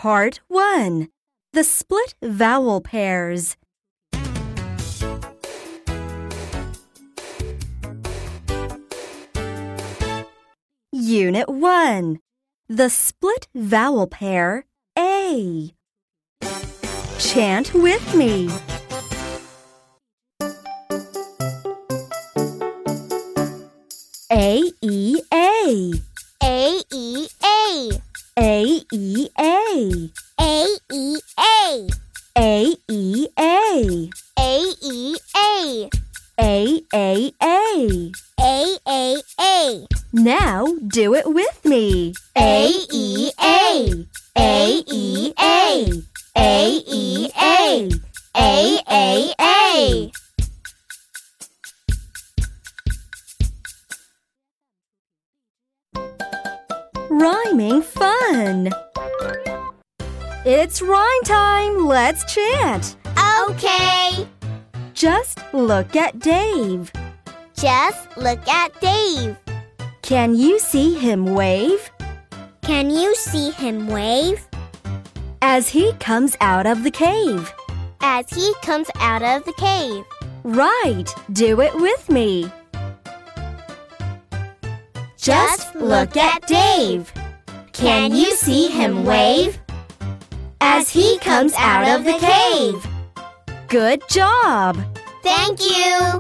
Part 1. The split vowel pairs. Unit 1. The split vowel pair A. Chant with me. A-E-A. A-E-A. A-E-A. A-E-A. A-E-A. A-E-A. A-A-A. A-A-A. Now do it with me. A-E-A. A-E-A. A-E-A. A-A-A. Rhyming fun. It's rhyme time. Let's chant. Okay. Just look at Dave. Just look at Dave. Can you see him wave? Can you see him wave? As he comes out of the cave. As he comes out of the cave. Right. Do it with me. Just look at Dave. Can you see him wave? As he comes out of the cave. Good job. Thank you.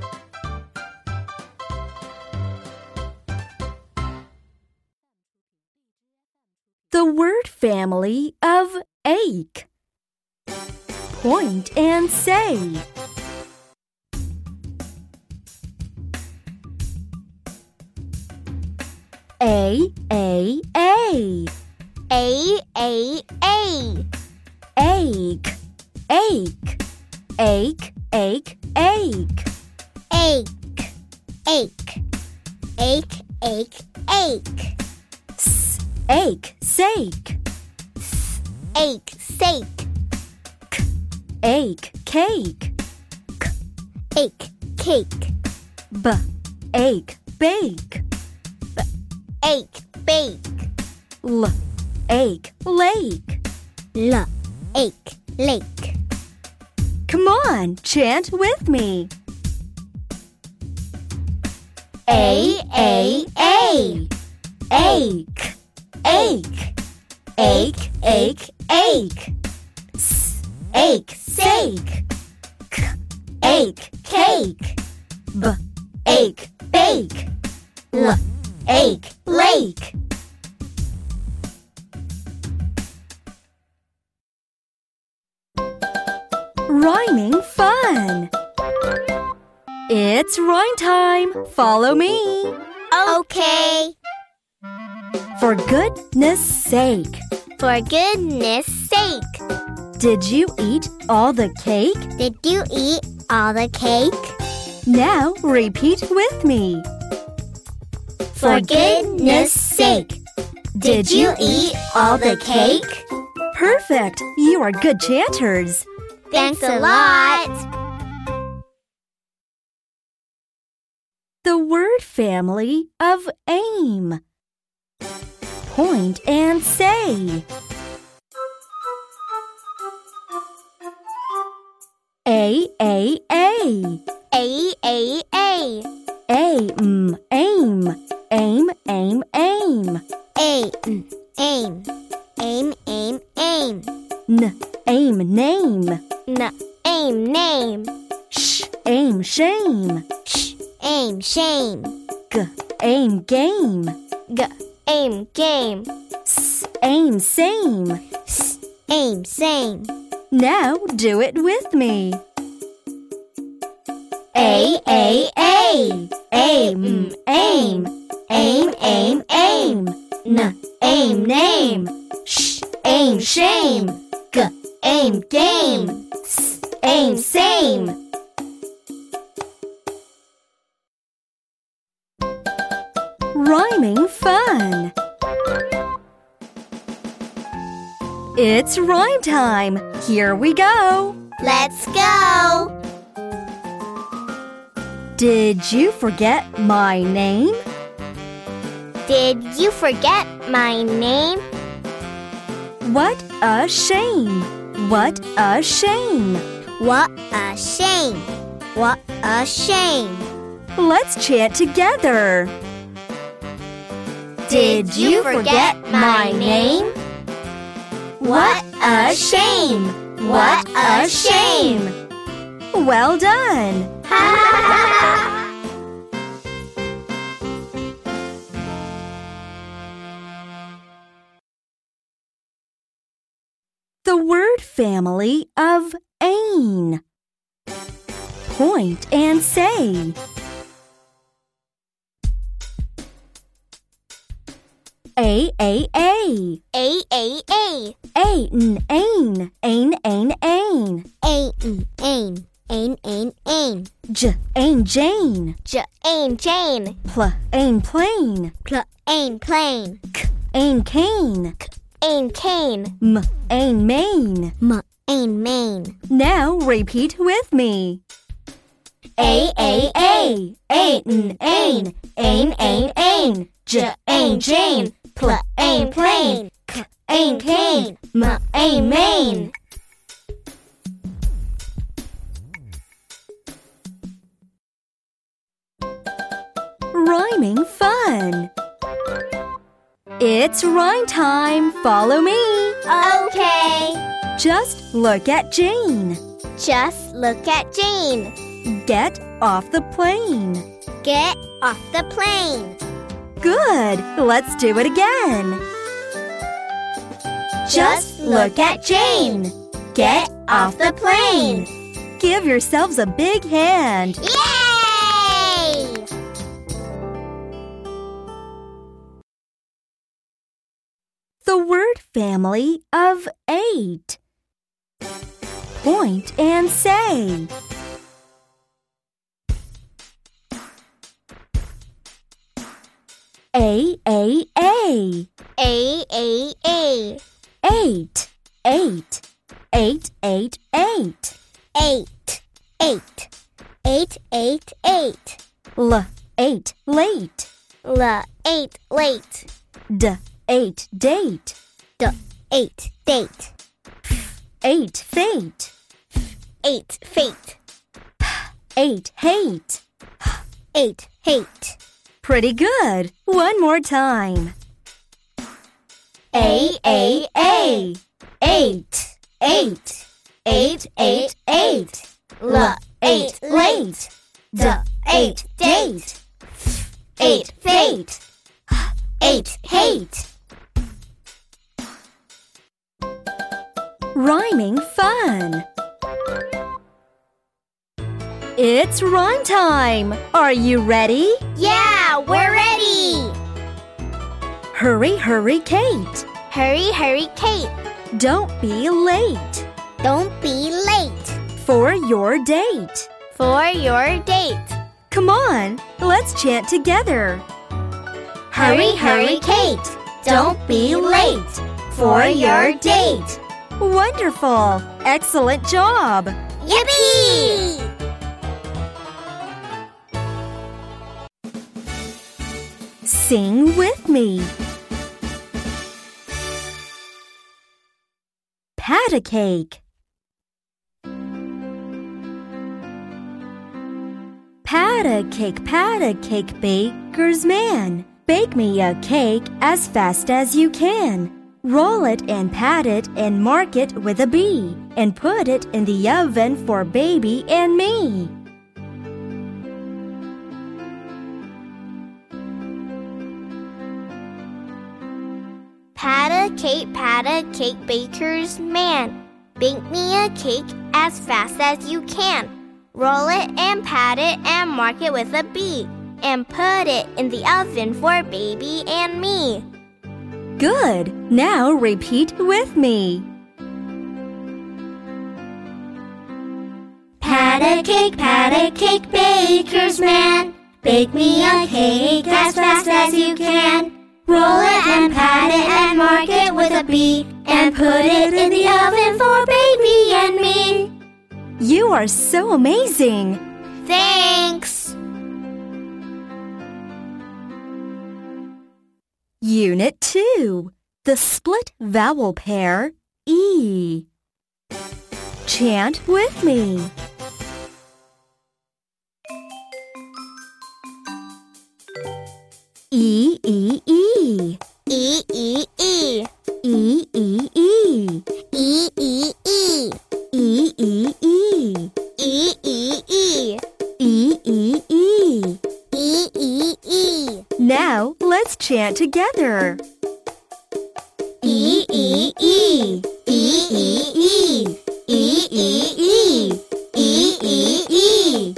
The word family of ache. Point and say. A-A-A. A-A-A. Ache, ache, ache, ache, ache. Ache, ache, ache, ache, ache. Ache, sake. Ache, sake. Ache, cake. Ache, cake. Ache, bake. Ache, bake. Ache, lake. Ache, lake. Come on, chant with me. A-A-A. Ache, ache, ache, ache, ache. Ache, sake. Ache, cake. Ache, bake. Ache, lake. Rhyming fun. It's rhyme time. Follow me. Okay. For goodness sake. For goodness sake. Did you eat all the cake? Did you eat all the cake? Now repeat with me. For goodness sake. Did you eat all the cake? Perfect. You are good chanters. Thanks a lot. The word family of aim. Point and say. A-A-A. A-A-A. Aim, aim, aim, aim, aim. Aim, aim, aim, aim, aim. Aim, name. Aim, name. Aim, shame. Aim, shame. Aim, game. Aim, game. Aim, same. Aim, same. Now do it with me. A-A-A. Aim, aim, aim, aim, aim. Aim, name. Aim, shame. Aim, game. Aim, same. Rhyming fun. It's rhyme time. Here we go. Let's go. Did you forget my name? Did you forget my name? What a shame! What a shame! What a shame! What a shame! Let's chant together. Did you forget my name? What a shame! What a shame! Well done! The word family of ain. Point and say. A. A, A, A. Ain, ain, ain, ain, ain. Ain, ain, ain, ain. J, ain, Jane. Ain, Jane. Pl, ain, plain. Ain, plain. K, ain, cane. Ain, cane. M, ain, main. Ain, main. Now repeat with me. A, A, A. Ain, ain, ain, ain, ain. J, ain, Jane. Pl, ain, plain. K, ain, cane. M, ain, main. Rhyming fun. It's rhyme time. Follow me. Okay. Just look at Jane. Just look at Jane. Get off the plane. Get off the plane. Good. Let's do it again. Just look at Jane. Get off the plane. Give yourselves a big hand. Yay! The word family of 8. Point and say. A, A, A. A, A, A. 8, 8, 8, 8, 8. 8, 8. 8, 8, 8. L, 8, late. L, 8, late. D, 8, date. D, 8, date. 8, fate. 8, fate. 8, hate. 8, hate. Pretty good. One more time. A, A, A. 8, 8, 8, 8, 8. L, 8, late. D, 8, date. 8, fate. 8, hate. Rhyming fun. It's rhyme time. Are you ready? Yeah, we're ready. Hurry, hurry, Kate. Hurry, hurry, Kate. Don't be late Don't be late for your date. for your date. Come on, let's chant together. Hurry, hurry, Kate. Don't be late for your date. Wonderful! Excellent job! Yippee! Sing with me. Pat a cake. Pat a cake, baker's man. Bake me a cake as fast as you can. Roll it and pat it and mark it with a B, and put it in the oven for baby and me. Pat a cake, baker's man. Bake me a cake as fast as you can. Roll it and pat it and mark it with a B, and put it in the oven for baby and me. Good! Now repeat with me. Pat a cake, baker's man. Bake me a cake as fast as you can. Roll it and pat it and mark it with a B, and put it in the oven for baby and me. You are so amazing! Thanks! Unit 2. the split vowel pair E. Chant with me. E, E, E. E, E, E. E, E, E. E, E, E. E, E, E. E, E, E. E, E, E. E, E, E. Now let's chant together. E, E, E. E, E, E. E, E, E. E, E, E.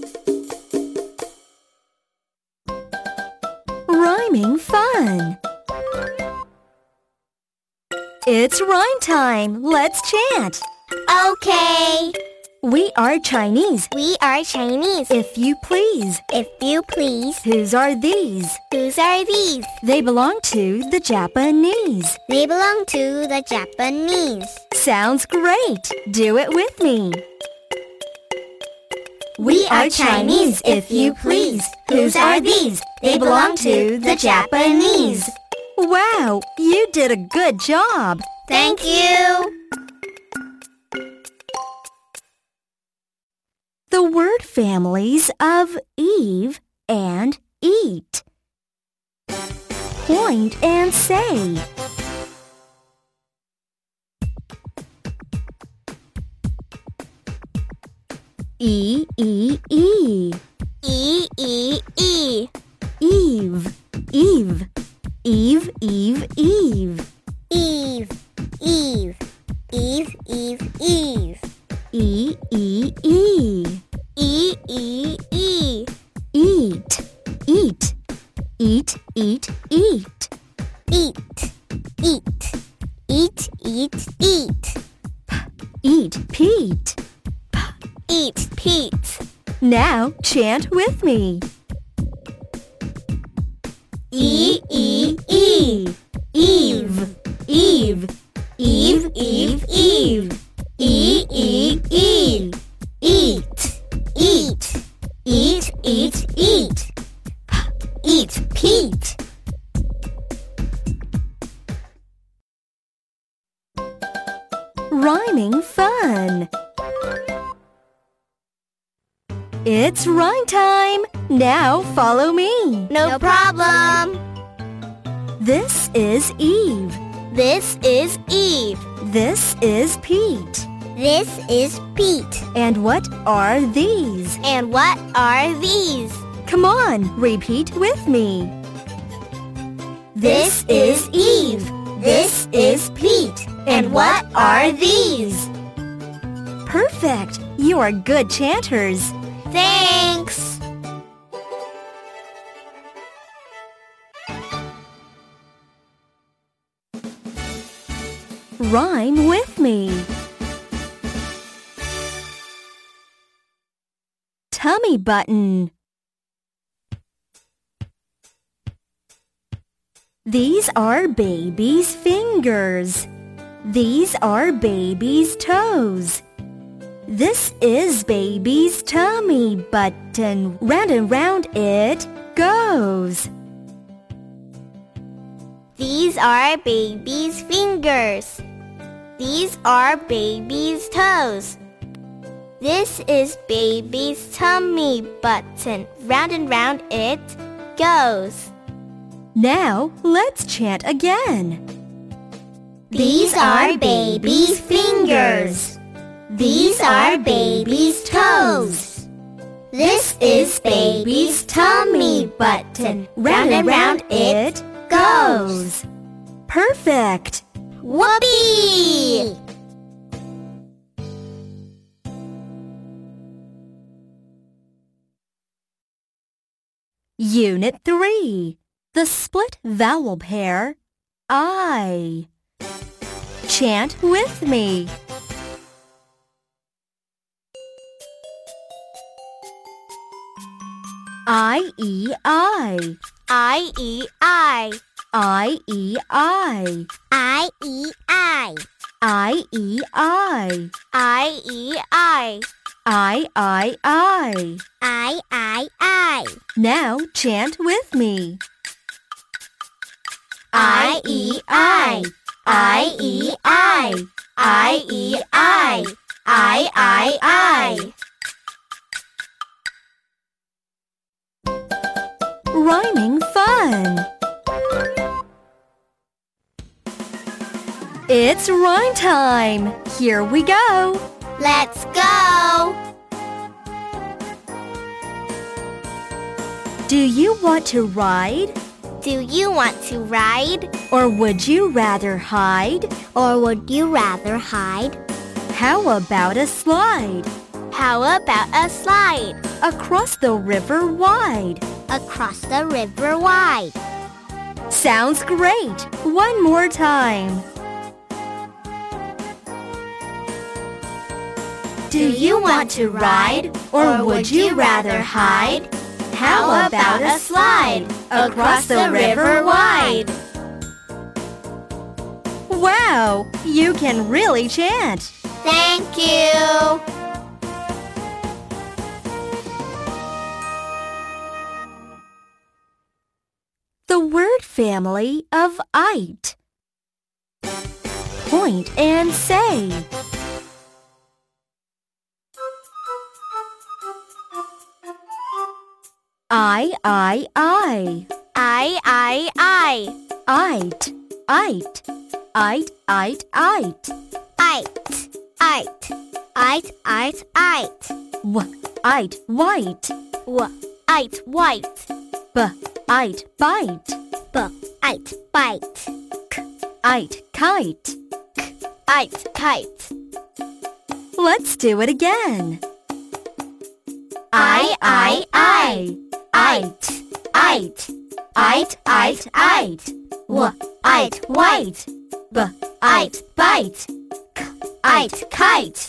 Rhyming fun. It's rhyme time. Let's chant. Okay. We are Chinese. We are Chinese. If you please. If you please. Whose are these? Whose are these? They belong to the Japanese. They belong to the Japanese. Sounds great. Do it with me. We are Chinese, if you please. Whose are these? They belong to the Japanese. Wow, you did a good job. Thank you. The word families of Eve and eat. Point and say. E, E, E. E, E, E. Eve, Eve. Eve, Eve, Eve. Eve, Eve. Eve, Eve, Eve. E, E, E. E, E, E. Eat, eat. Eat, eat, eat. Eat, eat. Eat, eat, eat. Eat, Pete. Eat, Pete. Now chant with me. E, E, E. Eve, Eve. Eve, Eve, Eve. E, E, E. Eat, eat. Eat, eat, eat. Eat, Pete. Rhyming fun. It's rhyme time. Now follow me. No problem. This is Eve. This is Eve. This is Pete. This is Pete. And what are these? And what are these? Come on, repeat with me. This is Eve. This is Pete. And what are these? Perfect. You are good chanters. Thanks. Rhyme with me. Tummy button. These are baby's fingers. These are baby's toes. This is baby's tummy button. Round and round it goes. These are baby's fingers. These are baby's toes. This is baby's tummy button. Round and round it goes. Now let's chant again. These are baby's fingers. These are baby's toes. This is baby's tummy button. Round and round it goes. Perfect! Whoopee! Unit 3. The split vowel pair I. Chant with me. I-E-I. I-E-I. I-E-I. I-E-I. I-E-I. I-E-I. I-I-I. I-I-I. Now chant with me. I-E-I, I-E-I, I-E-I, I-I-I. Rhyming fun! It's rhyme time! Here we go! Let's go! Do you want to ride? Do you want to ride? Or would you rather hide? Or would you rather hide? How about a slide? How about a slide? Across the river wide. Across the river wide. Sounds great! One more time. Do you want to ride? Or would you rather hide? How about a slide across the river wide? Wow! You can really chant! Thank you! The word family of ite. Point and say. I. I. Ite. Ite. Ite. Ite. Ite. Ite. Ite. White. Ite white. Ite bite. Ite bite. Ite kite. Ite kite. Let's do it again. I. Ite. Ite. Ite white. Ite bite. Ite kite.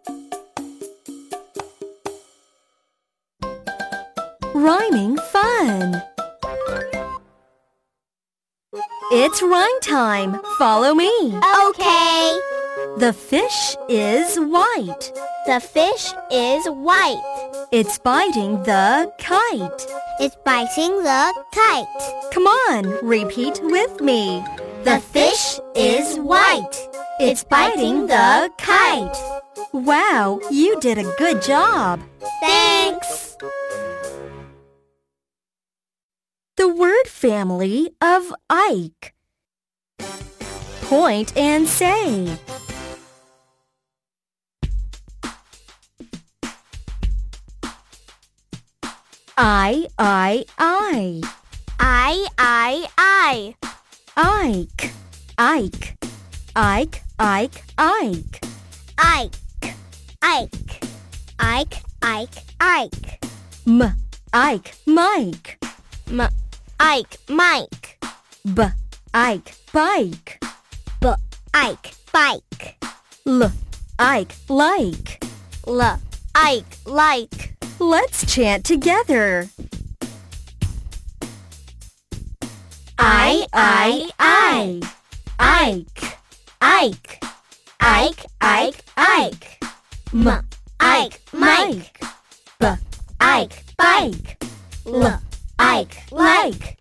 Rhyming fun. It's rhyme time. Follow me. Okay. The fish is white. The fish is white. It's biting the kite. It's biting the kite. Come on, repeat with me. The fish is white. It's biting the kite. Wow, you did a good job. Thanks. The word family of Ike. Point and say. I. I. Ike. Ike. Ike. Ike. Ike. Ike. Ike. Ike. Ike. Ike. Ike. Mike. Ike. Mike. Ike. Bike. Ike. Bike. Ike. Like. Ike. Like. Let's chant together. I. Ike. Ike. Ike. Ike. Ike. Ike. Mike. Ike. Bike. Ike. Like.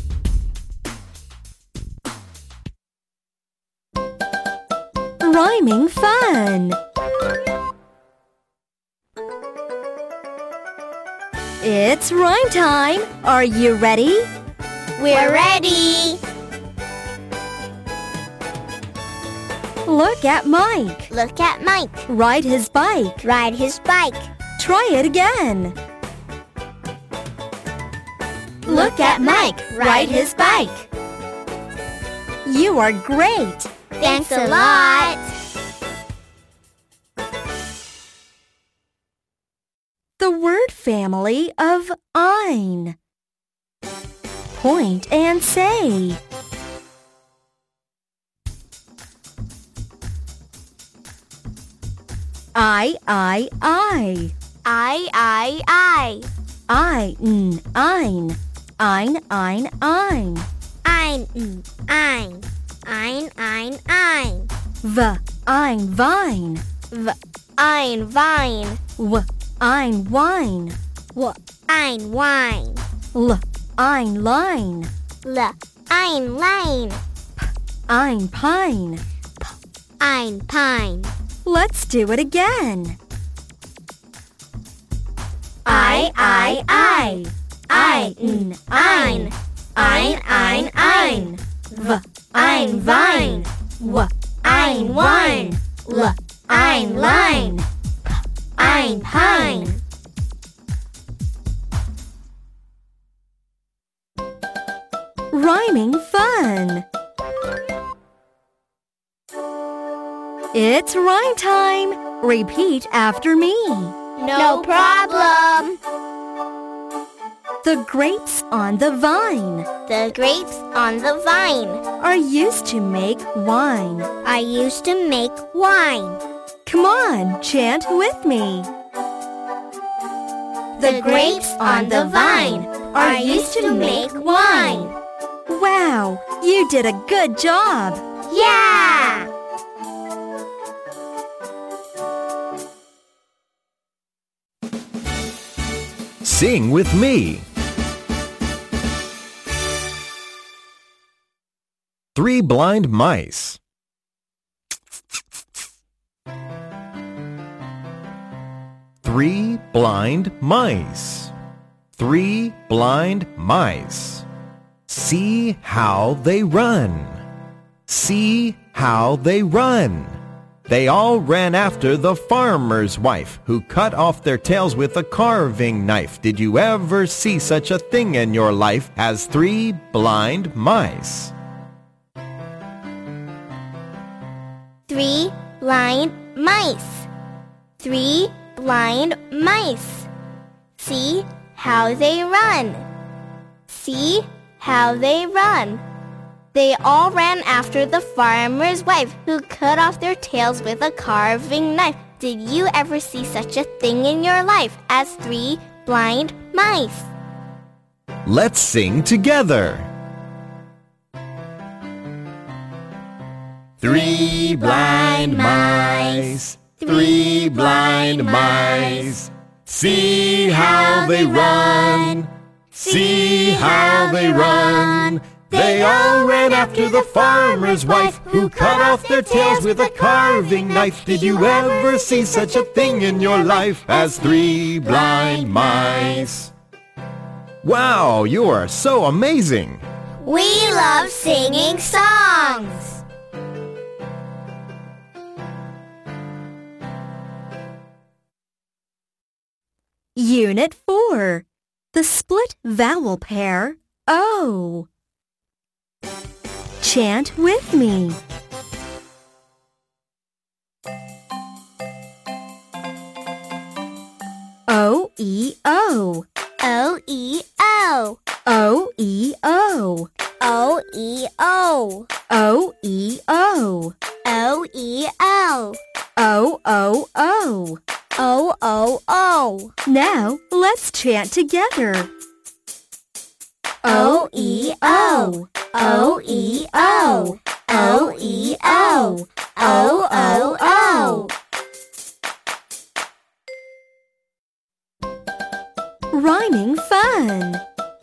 Rhyming fun. It's rhyme time. Are you ready? We're ready. Look at Mike. Look at Mike. Ride his bike. Ride his bike. Try it again. Look at Mike. Ride his bike. You are great. Thanks a lot. The word family of ein. Point and say. I. I. Ein. Ein. Ein. Ein. Ein. Ein. Ein. Vine. Ein. Vine. Ein. Wine. Ein. Wine. Ein. Line. Ein, line. Ein, pine. Ein, pine. Let's do it again. I, ein. Ein, Ein. Ein. V, ein, vine. W, ein, wine. L, ein, line. P, ein, pine. Rhyming fun. It's rhyme time. Repeat after me. No problem. The grapes on the vine The grapes on the vine are used to make wine. are used to make wine. Come on, chant with me. The grapes on the vine are used to make wine. Wow, you did a good job. Yeah! Sing with me. 3 blind mice. Three blind mice. 3 blind mice. See how they run. See how they run. They all ran after the farmer's wife, who cut off their tails with a carving knife. Did you ever see such a thing in your life as 3 blind mice? 3 blind mice. 3 blind mice. See how they run. See how they run. They all ran after the farmer's wife, who cut off their tails with a carving knife. Did you ever see such a thing in your life as 3 blind mice? Let's sing together. 3 blind mice, 3 blind mice. See how they run, see how they run. They all ran after the farmer's wife, who cut off their tails with a carving knife. Did you ever see such a thing in your life as 3 blind mice? Wow, you are so amazing! We love singing songs. Unit 4. The split vowel pair O. Chant with me. O-E-O. O-E-O. O-E-O. O-E-O. O-E-O. O-E-O. O-O-O. O-O-O. Now let's chant together. O-E-O. O-E-O. O-E-O. O-O-O. Rhyming fun.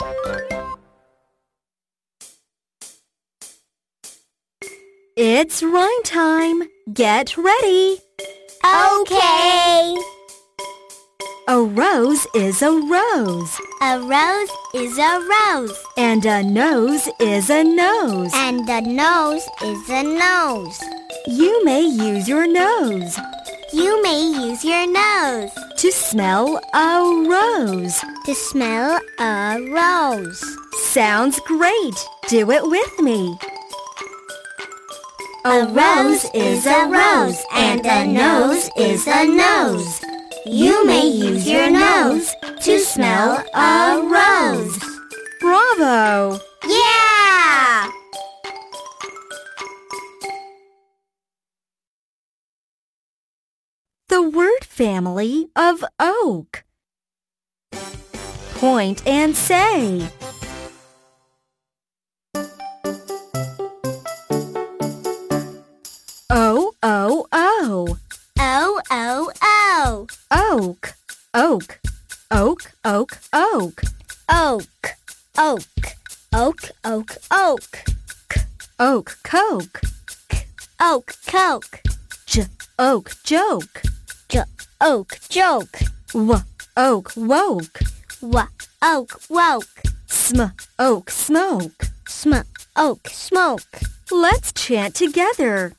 It's rhyme time. Get ready. Okay. A rose is a rose. A rose is a rose. And a nose is a nose. And a nose is a nose. You may use your nose You may use your nose to smell a rose. to smell a rose. Sounds great. Do it with me. A rose is a rose, and a nose is a nose. You may use your nose to smell a rose. Bravo! Yeah! The word family of oak. Point and say. O-O-O. O-O-O. Oak. Oak. Oak, oak, oak. Oak. Oak. Oak, oak, oak. oak joke. Oak joke. Oak woke. Oak woke. Oak smoke. Oak smoke. Let's chant together.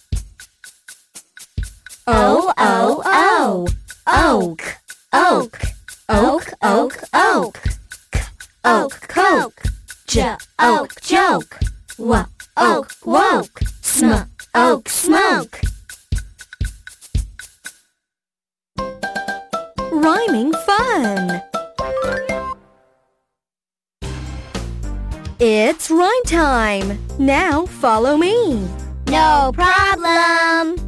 O, O, O. Oak. Oak. Oak, oak, oak. Oak, coke. Oak, joke. Oak, woke. Oak, smoke. Rhyming fun. It's rhyme time. Now follow me. No problem.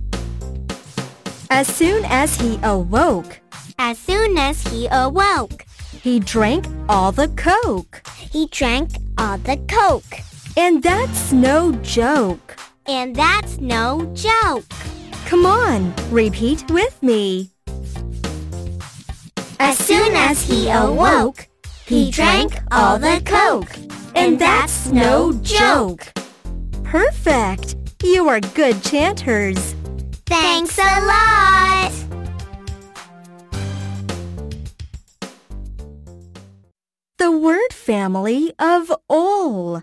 As soon as he awoke, As soon as he awoke, he drank all the Coke. he drank all the coke. And that's no joke. And that's no joke. Come on, repeat with me. As soon as he awoke, he drank all the coke. And that's no joke. Perfect. You are good chanters. Thanks a lot. The word family of all.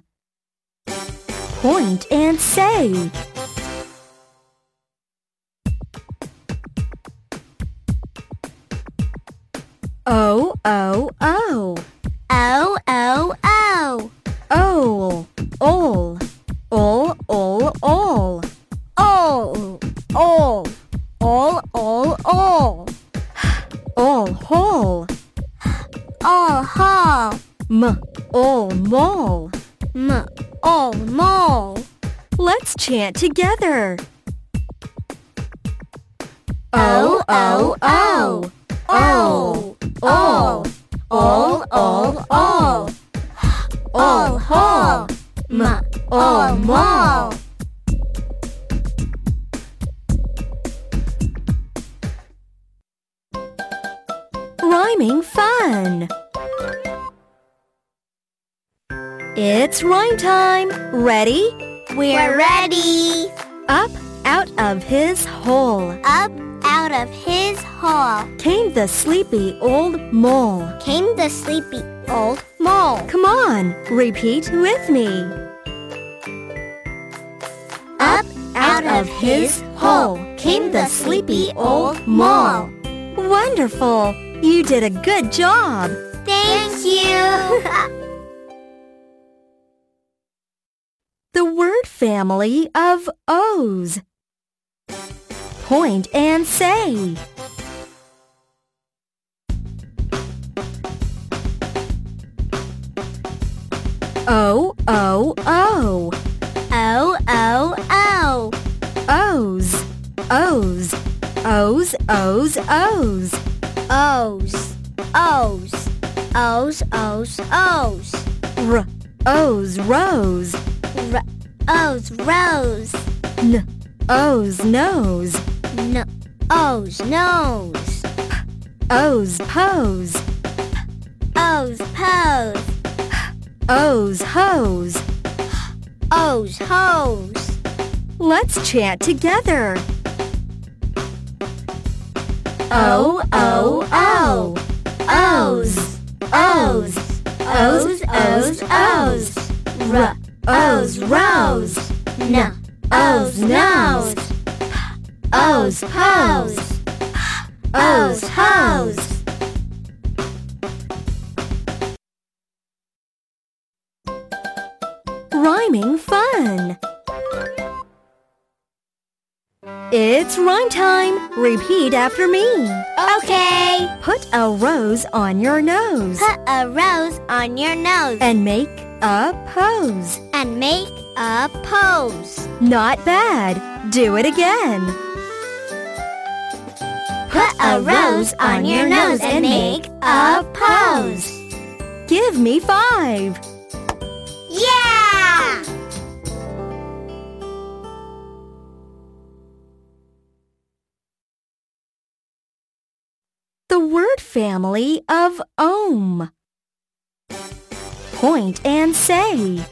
Point and say. O, O, O. O, O, O. Ol, ol. Ol, ol, ol. All, all. All, all, all. Ol, hole. All, hall. Ol, mole. All, mole. Let's chant together. O, O, O. All, all. All, all, all. All, hall. All, mall. Rhyming fun. It's rhyme time. Ready? We're ready. Up out of his hole Up out of his hole came the sleepy old mole. came the sleepy old mole. Come on, repeat with me. Up out of his hole came the sleepy old mole. Wonderful! You did a good job. Thank you. The word family of O's. Point and say. O, O, O. O, O, O. O's, O's. O's, O's, O's. O's, O's. O's, O's, O's. O's, rose. O's, rose. O's, nose. O's, nose. O's, pose. O's, pose. O's, hose. O's, hose. Let's chant together. O, O, O. O's, O's. O's, O's, O's. O's, rose. O's, nose. O's, pose. O's, hose. Rhyming fun. It's rhyme time. Repeat after me. Okay. Put a rose on your nose Put a rose on your nose and make a pose. and make a pose. Not bad. Do it again. Put a rose on your nose and make a pose. Give me 5. Yeah! The word family of ohm. Point and say.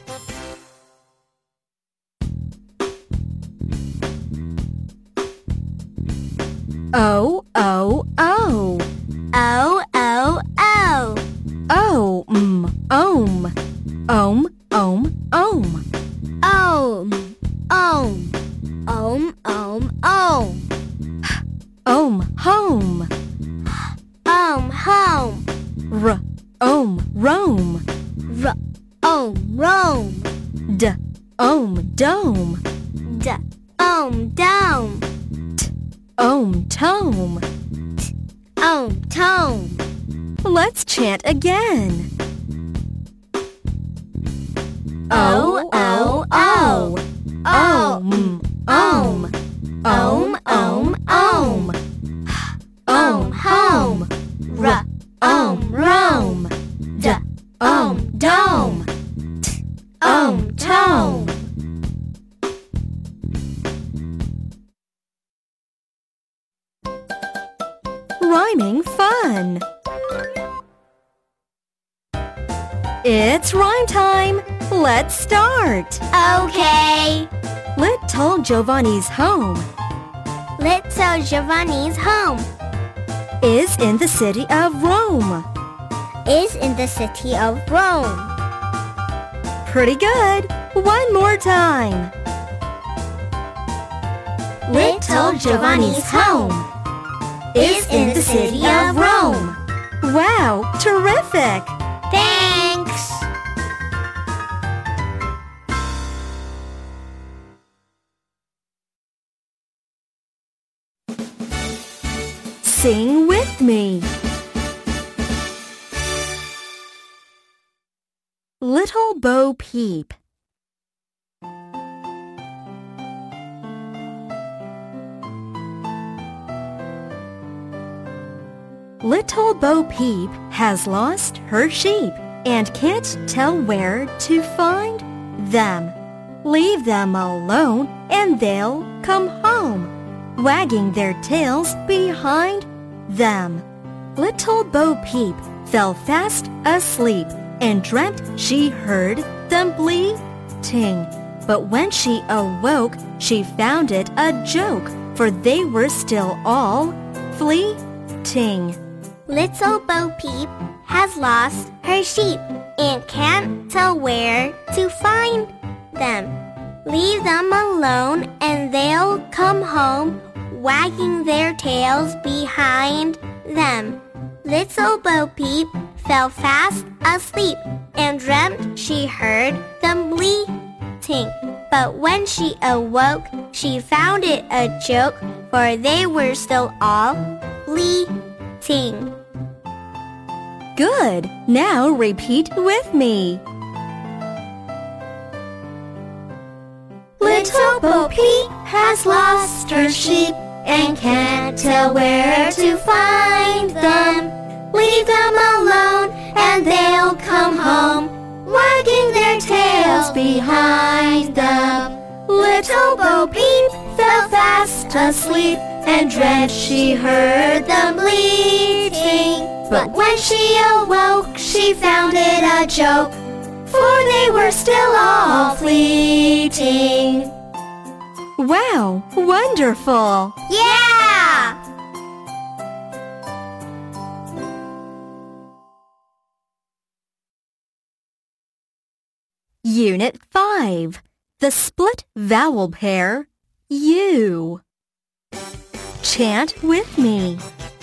O, O, O. O, O, O. Ohm, ohm. Ohm, ohm, ohm. Ohm, ohm. Ohm, ohm, ohm. Ohm, home. Ohm, home. R, ohm, Rome. R, ohm, Rome. D, ohm, dome. D, ohm, dome. Ohm, tome. Ohm, tome. Let's chant again. O, O, O. Ohm, ohm. Ohm, ohm, ohm. Ohm, home. R, ohm, Rome. D, ohm, dome. T, ohm, tome. Rhyming fun. It's rhyme time. Let's start. Okay. Little Giovanni's home Little Giovanni's home is in the city of Rome. is in the city of Rome. Pretty good. One more time. Little Giovanni's home is in the city of Rome. Wow, terrific. Thanks. Sing with me. Little Bo Peep. Little Bo Peep has lost her sheep and can't tell where to find them. Leave them alone and they'll come home, wagging their tails behind them. Little Bo Peep fell fast asleep and dreamt she heard them bleating. But when she awoke, she found it a joke, for they were still all fleeting. Little Bo Peep has lost her sheep and can't tell where to find them. Leave them alone and they'll come home, wagging their tails behind them. Little Bo Peep fell fast asleep and dreamt she heard them bleating. But when she awoke, she found it a joke, for they were still all bleating. Good. Now repeat with me. Little Bo Peep has lost her sheep and can't tell where to find them. Leave them alone and they'll come home, wagging their tails behind them. Little Bo Peep fell fast asleep and dreamt she heard them bleating. But when she awoke, she found it a joke, for they were still all fleeting. Wow, wonderful! Yeah! Unit 5. The split vowel pair, U. Chant with me.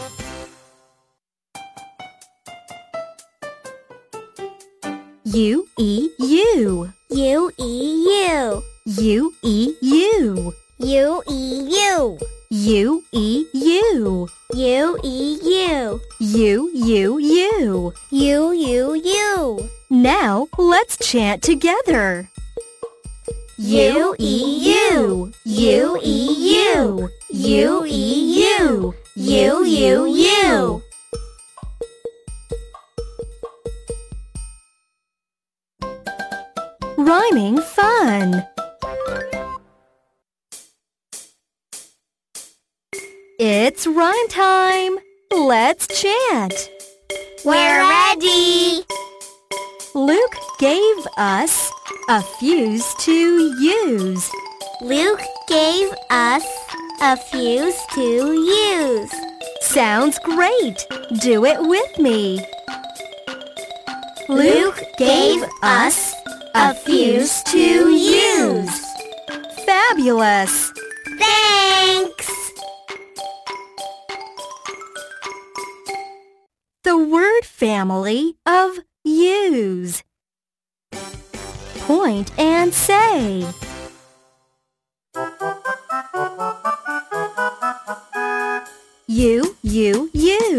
U-E-U. U-E-U. U-E-U. U-E-U. U-E-U. U-E-U. U-U-U. U-U-U. Now let's chant together. U-E-U. U-E-U. U-E-U. U-U-U. Rhyming fun. It's rhyme time. Let's chant. We're ready. Luke gave us a fuse to use. Luke gave us a fuse to use. Sounds great! Do it with me. Luke gave us a fuse to use. Fabulous! Thanks! The word family of use. Point and say. You. You.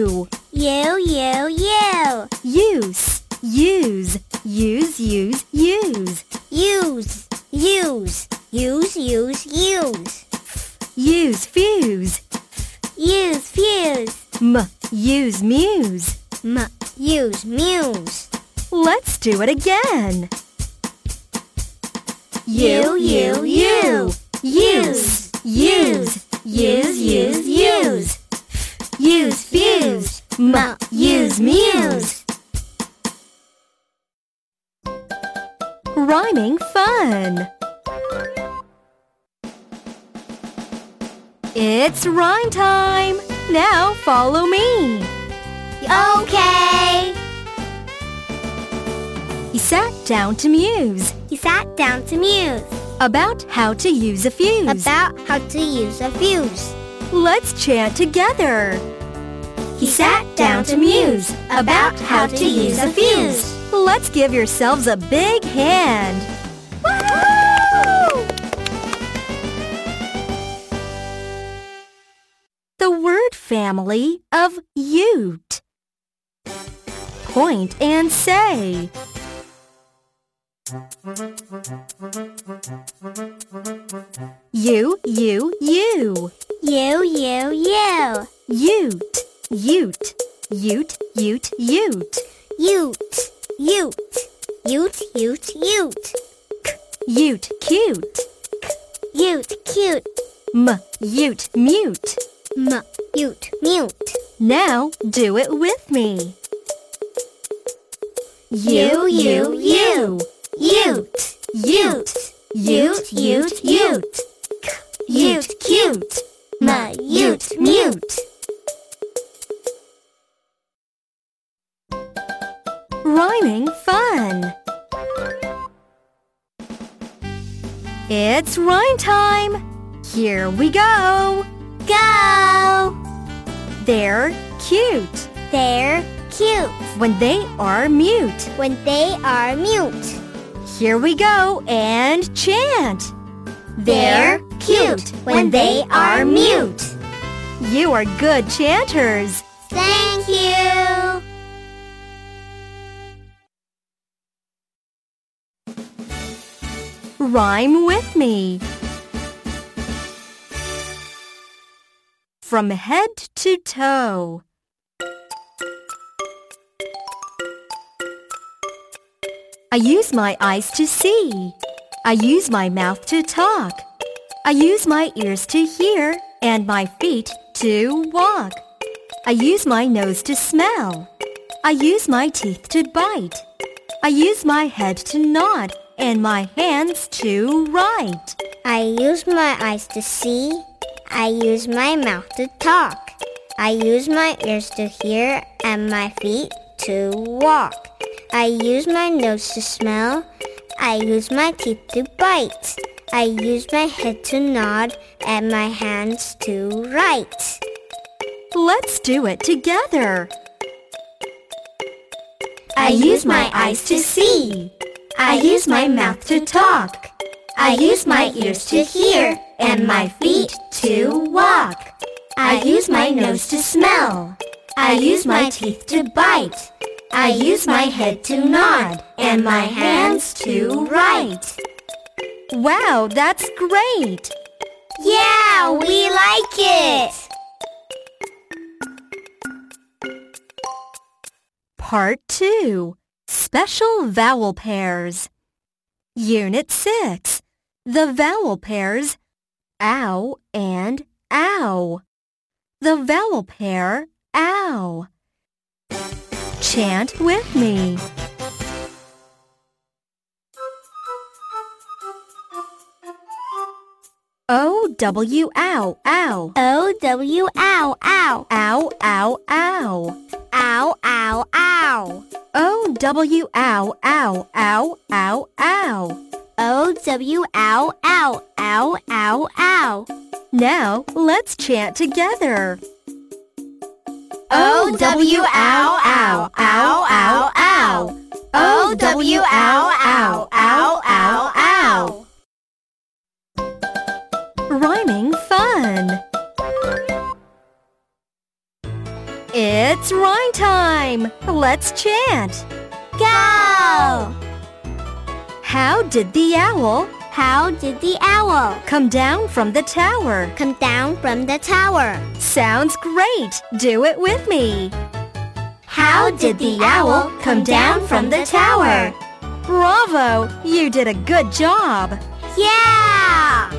Use. Use. Use. Use. Use. Use. Use. Use. Use. Use. Use fuse. Use fuse. Use muse. Use muse. Let's do it again. You. Use. Use. Use. Use. Use fuse. Use muse. Rhyming fun. It's rhyme time. Now follow me. Okay. He sat down to muse He sat down to muse about how to use a fuse. about how to use a fuse. Let's chant together. He sat down to muse about how to use a fuse. Let's give yourselves a big hand. Woo! The word family of ute. Point and say. You. You. Ute. Ute. Ute. Ute. Ute. Ute. Ute. Ute. Ute cute. Ute cute. Ute mute. Ute mute. Now do it with me. You. Ute. Ute. Ute. Ute cute. Ute mute. Rhyming fun. It's rhyme time. Here we go. Go! They're cute They're cute when they are mute. when they are mute. Here we go and chant. They're cute when they are mute. You are good chanters. Thank you! Rhyme with me. From head to toe. I use my eyes to see. I use my mouth to talk. I use my ears to hear and my feet to walk. I use my nose to smell. I use my teeth to bite. I use my head to nod and my hands to write. I use my eyes to see. I use my mouth to talk. I use my ears to hear and my feet to walk. I use my nose to smell. I use my teeth to bite. I use my head to nod and my hands to write. Let's do it together. I use my eyes to see. I use my mouth to talk. I use my ears to hear and my feet to walk. I use my nose to smell. I use my teeth to bite. I use my head to nod and my hands to write. Wow, that's great! Yeah, we like it! Part 2. Special vowel pairs. Unit 6. The vowel pairs ow and ow. The vowel pair ow. Chant with me. Oh O-W, ow, ow. O-W, ow, ow. Ow, ow, ow. Ow, ow, ow. O-W, ow, ow, ow, ow, ow. O-W, ow, ow, ow, ow, ow. Now, let's chant together. O-W, ow, ow, ow, ow, ow. O-W, ow, ow, ow, ow, ow. Rhyming fun. It's rhyme time. Let's chant. Go! How did the owl How did the owl come down from the tower? come down from the tower? Sounds great. Do it with me. How did the owl come down from the tower? Bravo! You did a good job. Yeah!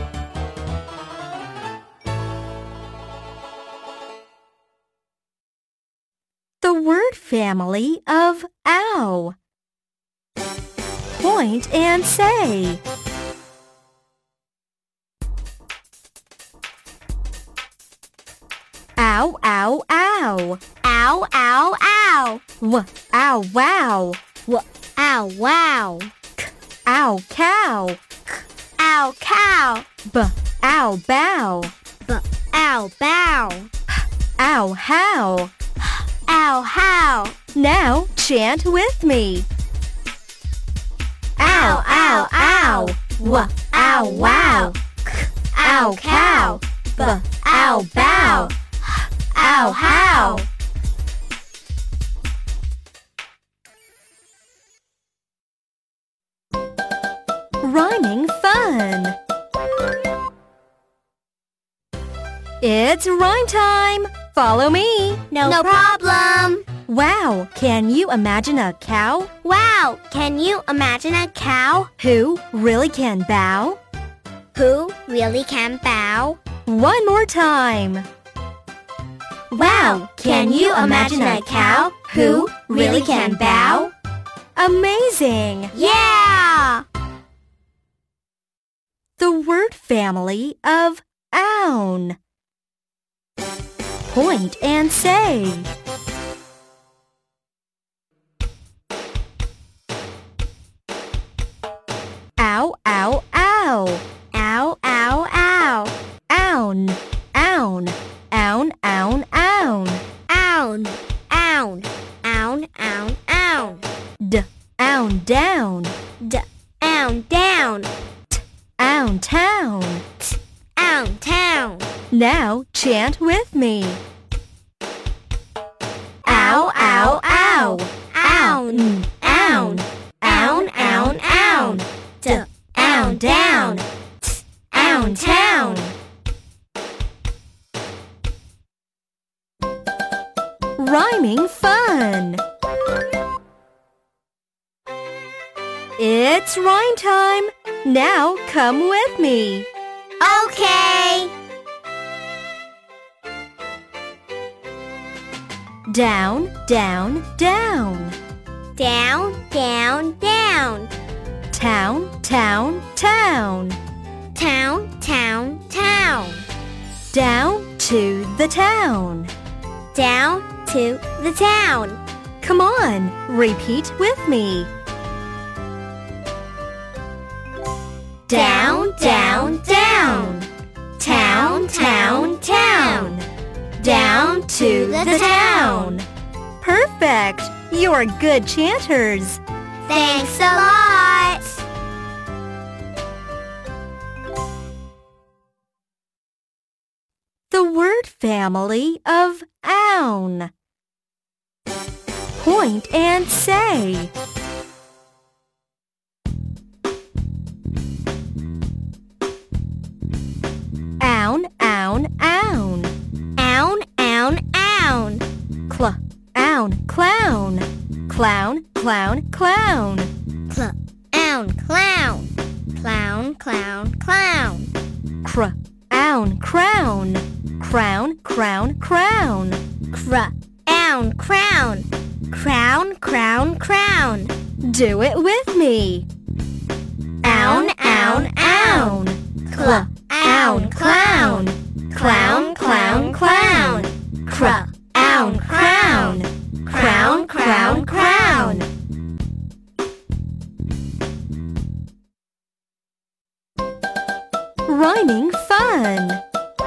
The word family of ow. Point and say. Ow, ow, ow. Ow, ow, ow. Ow, wow. Ow, wow. Ow, cow. Ow, cow. Ow, bow. Ow, bow. Ow, how. Ow, how. Now chant with me. Ow, ow, ow. Ow, wow. Ow, cow. Ow, bow. Ow, how. Rhyming fun. It's rhyme time. Follow me. No problem. Wow, can you imagine a cow Wow, can you imagine a cow who really can bow? who really can bow? One more time. Wow, can you imagine a cow who really can bow? Amazing! Yeah! The word family of own. Point and say. Ow, ow, ow. Ow, ow, ow. Own, own, own, own, own. Own, own, own, own, own. Own, down. Own, down. Own, town. Own, town. Now chant with me. Ow, ow, ow. Own, own, own, own, own. Own, down. Own, town. Rhyming fun. It's rhyme time. Now come with me. Okay. Down, down, down. Down, down, down. Town, town, town. Town, town, town. Down to the town. Down to the town. Come on, repeat with me. Down, down, down. Town, town, town. Down to the town. Perfect! You're good chanters. Thanks a lot. The word family of own. Point and say. Own, own, own. Own, own, own. Own, clown. Clown, clown, clown. Own, clown. Clown, clown, clown. Own, crown. Crown, crown, crown. Own, crown. Crown, crown, crown. Do it with me. Own, own, own. ound, clown. Clown, clown, clown. Cr-ound, crown. Crown, crown, crown. Rhyming fun!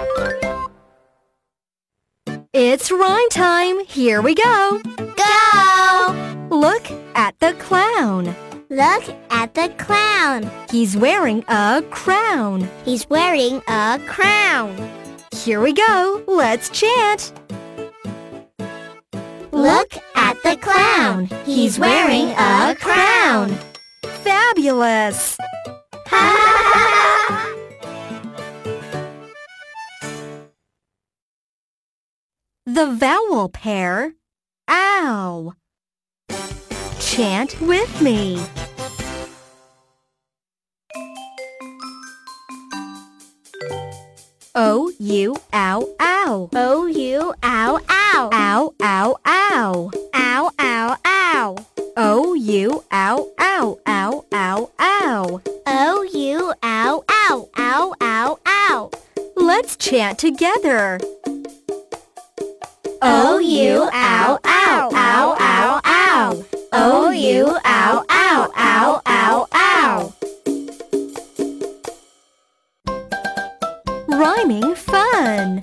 It's rhyme time! Here we go! Go! Look at the clown. Look at the clown. He's wearing a crown. He's wearing a crown. Here we go! Let's chant! Look at the clown. He's wearing a crown. Fabulous! The vowel pair, ow. Chant with me. O-U, ow, ow. O-U, ow, ow. Ow, ow, ow. Ow, ow, ow. O-U, ow, ow, ow, ow, ow. O-U, ow, ow, ow, ow, ow. Let's chant together. O-U, ow, ow, ow, ow, ow. O-U, ow, ow, ow, ow, ow. Rhyming fun!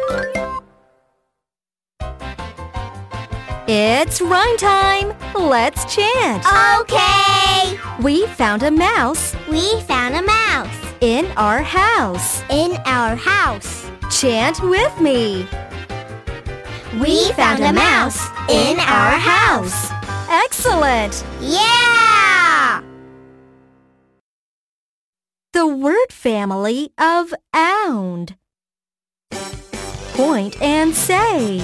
It's rhyme time! Let's chant! Okay! We found a mouse We found a mouse in our house. in our house. Chant with me. We found a mouse in our house. Excellent! Yeah! The word family of ound. Point and say.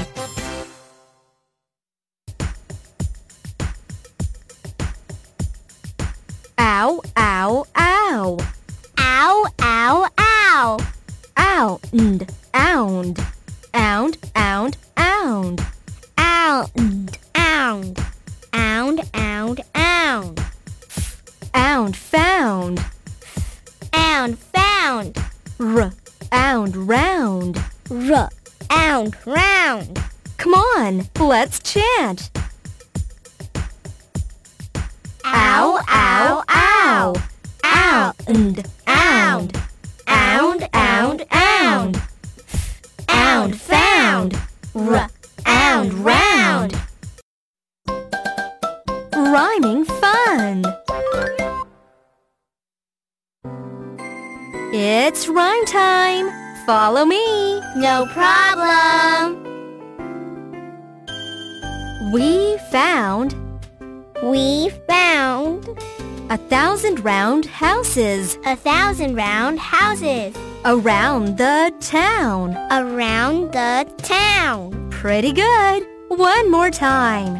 Ow, ow, ow. Ow, ow, ow. Ound, ound. Ound, ound, ound. Ound, ound. Ound, ound, ound. Ound, found. Ound, found. Ound, round. Ound, round. Come on, let's chant. Ow, ow, ow. Ound, ound. Ound, ound, ound. Ound, found. Ound, round. Rhyming fun. It's rhyme time. Follow me. No problem. We found We found 1,000 round houses 1,000 round houses around the town. around the town. Pretty good. One more time.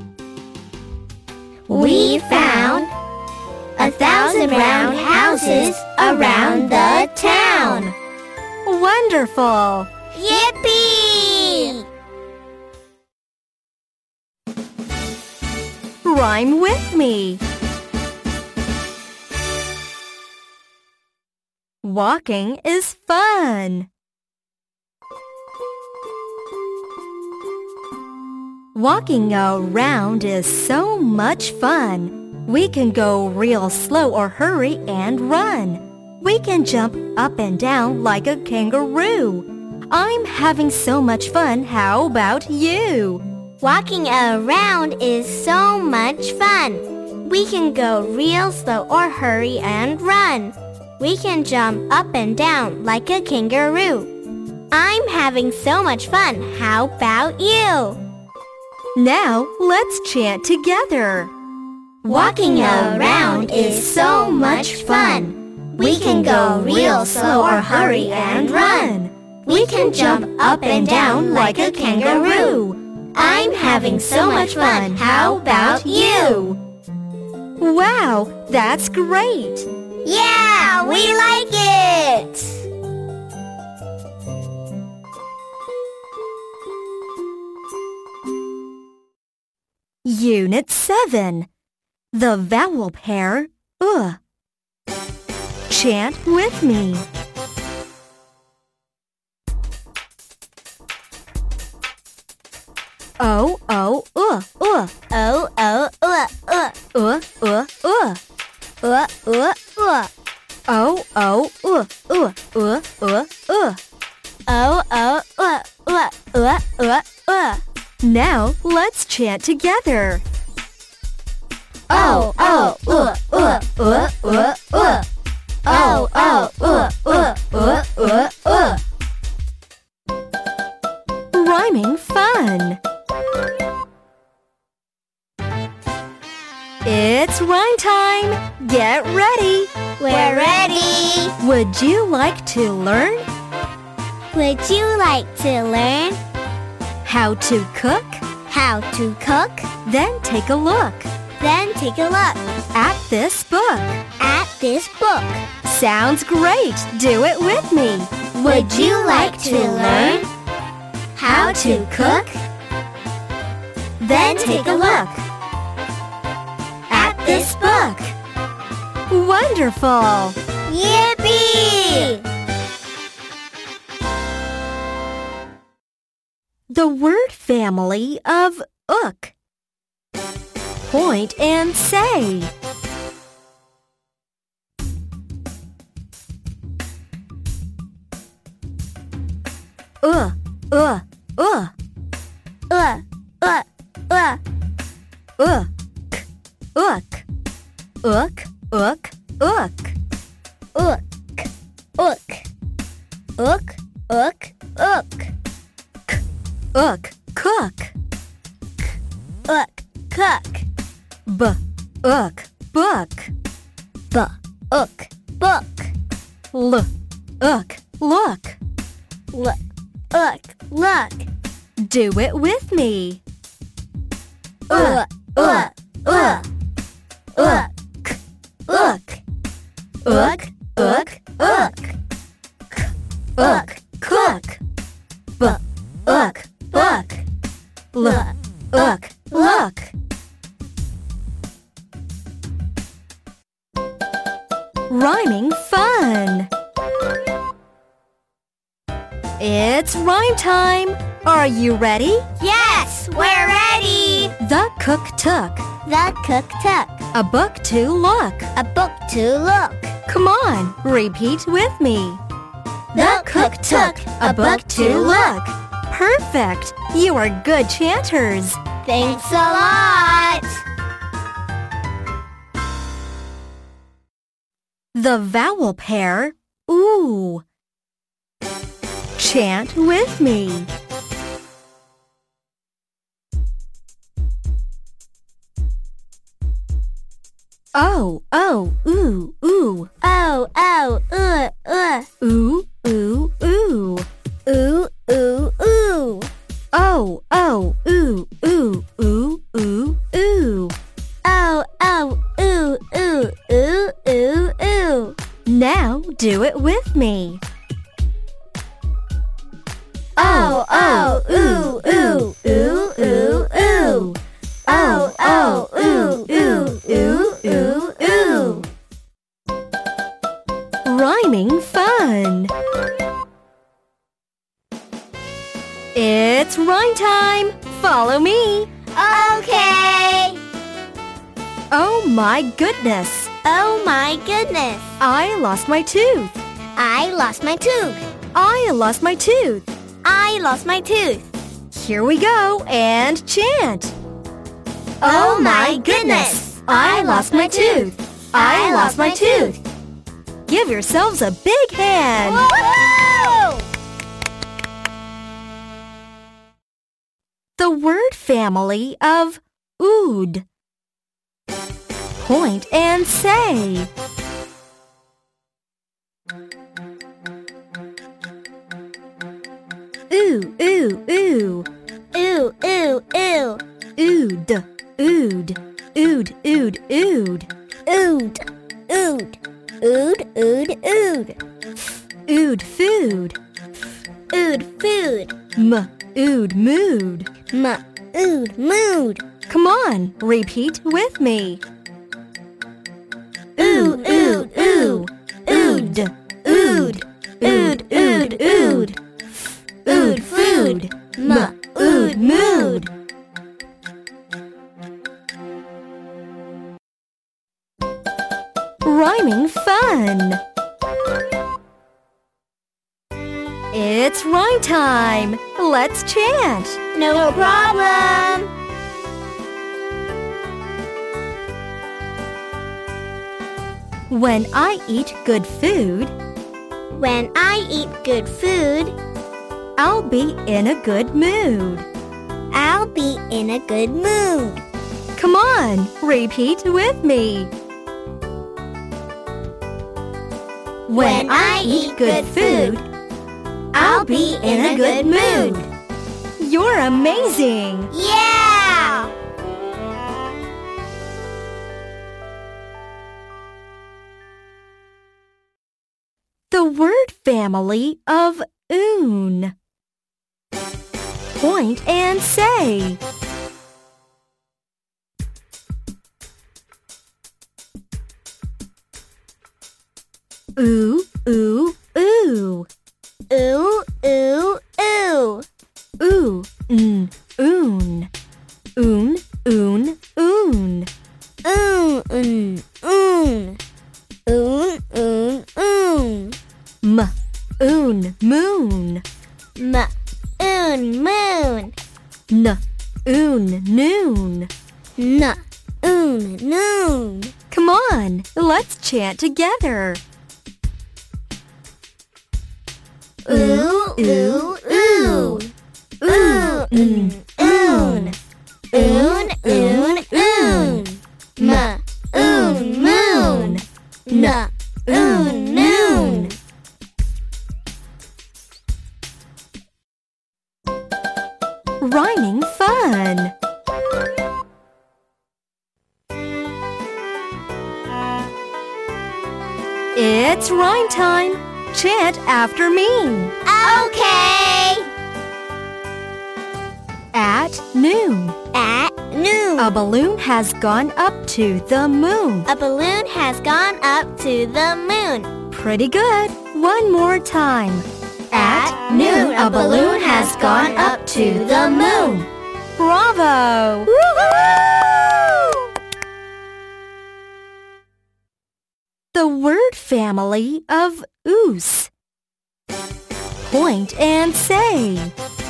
We found 1,000 round houses around the town. Wonderful. Yippee! Rhyme with me. Walking is fun. Walking around is so much fun. We can go real slow or hurry and run. We can jump up and down like a kangaroo. I'm having so much fun. How about you? Walking around is so much fun. We can go real slow or hurry and run. We can jump up and down like a kangaroo. I'm having so much fun. How about you? Now let's chant together. Walking around is so much fun. We can go real slow or hurry and run. We can jump up and down like a kangaroo. I'm having so much fun. How about you? Wow, that's great! Yeah, we like it! Unit 7. The vowel pair, Chant with me. O, O, O, O, uh. O, O, O, O. Now let's chant together. O, O, O, O, O, O, O. O, O, O, O, O, O, O. Rhyming fun. It's rhyme time. Get ready. We're ready. Would you like to learn Would you like to learn how to cook? how to cook? Then take a look Then take a look at this book. at this book. Sounds great. Do it with me. Would you like to learn how to cook? Then take a look at this book. Wonderful. Yippee! The word family of ook. Point and say. Ook, ook, Ook, ook, ook, ook, ook. ook, ook, ook, ook, ook. Ook, cook. Ook, cook. B, ook, book. B, ook, book. L, ook, look. Look, look, look. Do it with me. Ook, ook, ook. Ook, ook. Ook, ook, ook. Ook, cook. B, ook, book. L, ook, look. Rhyming fun. It's rhyme time. Are you ready? Yes, we're ready. The cook took The cook took a book to look. a book to look. Come on, repeat with me. The cook took a book to look. Perfect. You are good chanters. Thanks a lot. The vowel pair, oo. Chant with me. O, O, oo, oo. Oh, oh, Ooh, ooh, ooh. ooh, ooh, ooh. O, O, ooh, ooh, ooh, ooh, ooh. Oh, oh, ooh, ooh, ooh, ooh, ooh. Now do it with me. Oh, oh, ooh, ooh, ooh, ooh, ooh. Oh, oh, ooh, ooh, ooh, ooh, ooh. Rhyming fun. It's rhyme time. Follow me. Okay. Oh my goodness. Oh my goodness. I lost my tooth. I lost my tooth. I lost my tooth. I lost my tooth. Here we go and chant. Oh my goodness. I lost my tooth. I lost my tooth. Give yourselves a big hand. Woohoo! The word family of ood. Point and say. Ooh, ooh, ooh. Ooh, ooh, ooh. Ood, ood, ood, ood, ood. Ood, ood. Ood, ood, ood. Ood food. Ood food. Ood mood. Ood mood. Come on, repeat with me. Ooh, ooh, ooh. Ood, ood, ood, ood, ood. Ood food. Ood mood. fun! It's rhyme time! Let's chant! No problem! When I eat good food, When I eat good food, I'll be in a good mood. I'll be in a good mood. Come on, repeat with me. When I eat good food, I'll be in a good mood. You're amazing! Yeah! The word family of oon. Point and say. Ooh, ooh, ooh. Ooh, ooh, ooh. Ooh, oon. Oon, oon, oon. Oon, oon, oon. Oon, oon, oon. Oon, moon. Oon, moon. Oon, noon. Oon, noon. Come on, let's chant together. Ooh, ooh, ooh. Ooh, oon, oon. Oon, oon, oon. Oon, moon. Oon, noon. Rhyming fun. It's rhyme time. Chant after me. Okay. At noon, At noon. a balloon has gone up to the moon. A balloon has gone up to the moon. Pretty good. One more time. At noon, a balloon has gone up to the moon. Bravo! Woohoo! The word family of oos. Point and say.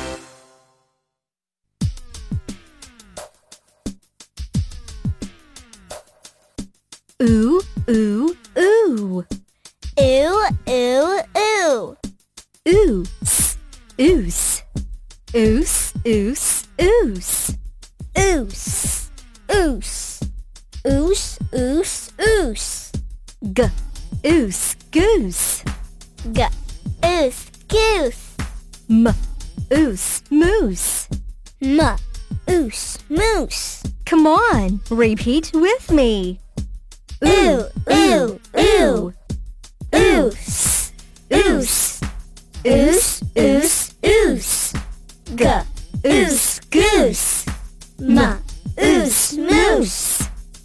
Ooh, ooh, ooh. Ooh, ooh, ooh. Oos, oos. Oos, oos, oos. Oos, oos. Oos, oos, oos. G, oos, goose. Oos, goose. M, oos, moose. Oos, moose. Come on, repeat with me. Ooh, ooh, ooh. Oos, oos. Oos, oos, oos. Oos, goose. Oos, moose.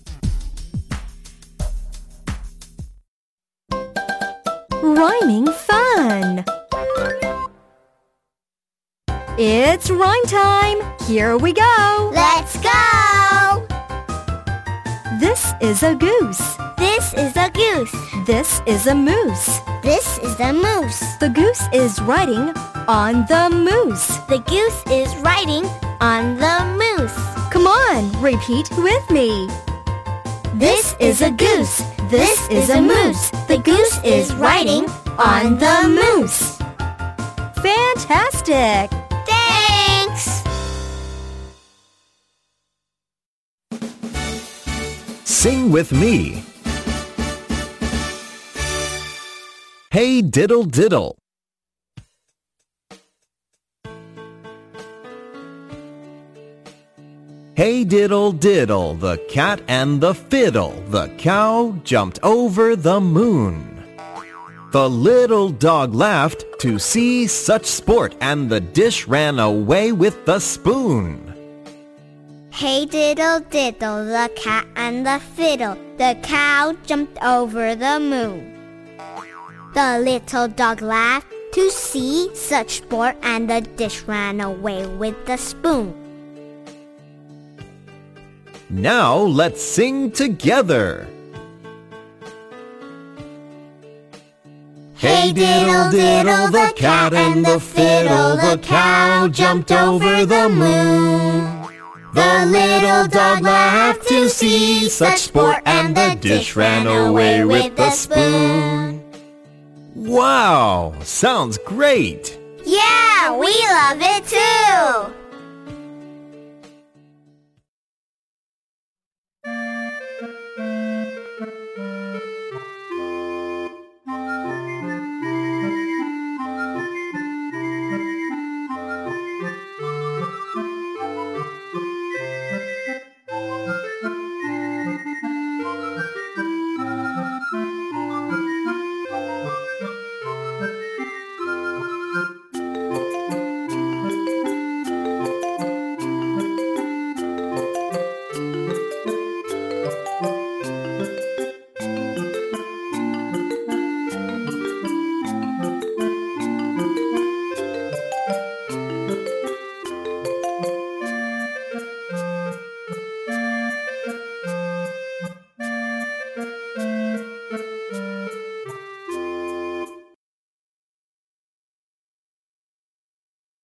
Rhyming fun. It's rhyme time. Here we go. Let's go! This is a goose. This is a goose. This is a moose. This is a moose. The goose is riding on the moose. The goose is riding on the moose. Come on, repeat with me. This is a goose. This is a moose. The goose is riding on the moose. Fantastic! Thanks! Sing with me. Hey diddle diddle. Hey diddle diddle, the cat and the fiddle. The cow jumped over the moon. The little dog laughed to see such sport, and the dish ran away with the spoon. Hey diddle diddle, the cat and the fiddle. The cow jumped over the moon. The little dog laughed to see such sport, and the dish ran away with the spoon. Now let's sing together. Hey diddle diddle, the cat and the fiddle, the cow jumped over the moon. The little dog laughed to see such sport, and the dish ran away with the spoon. Wow, sounds great! Yeah, we love it too!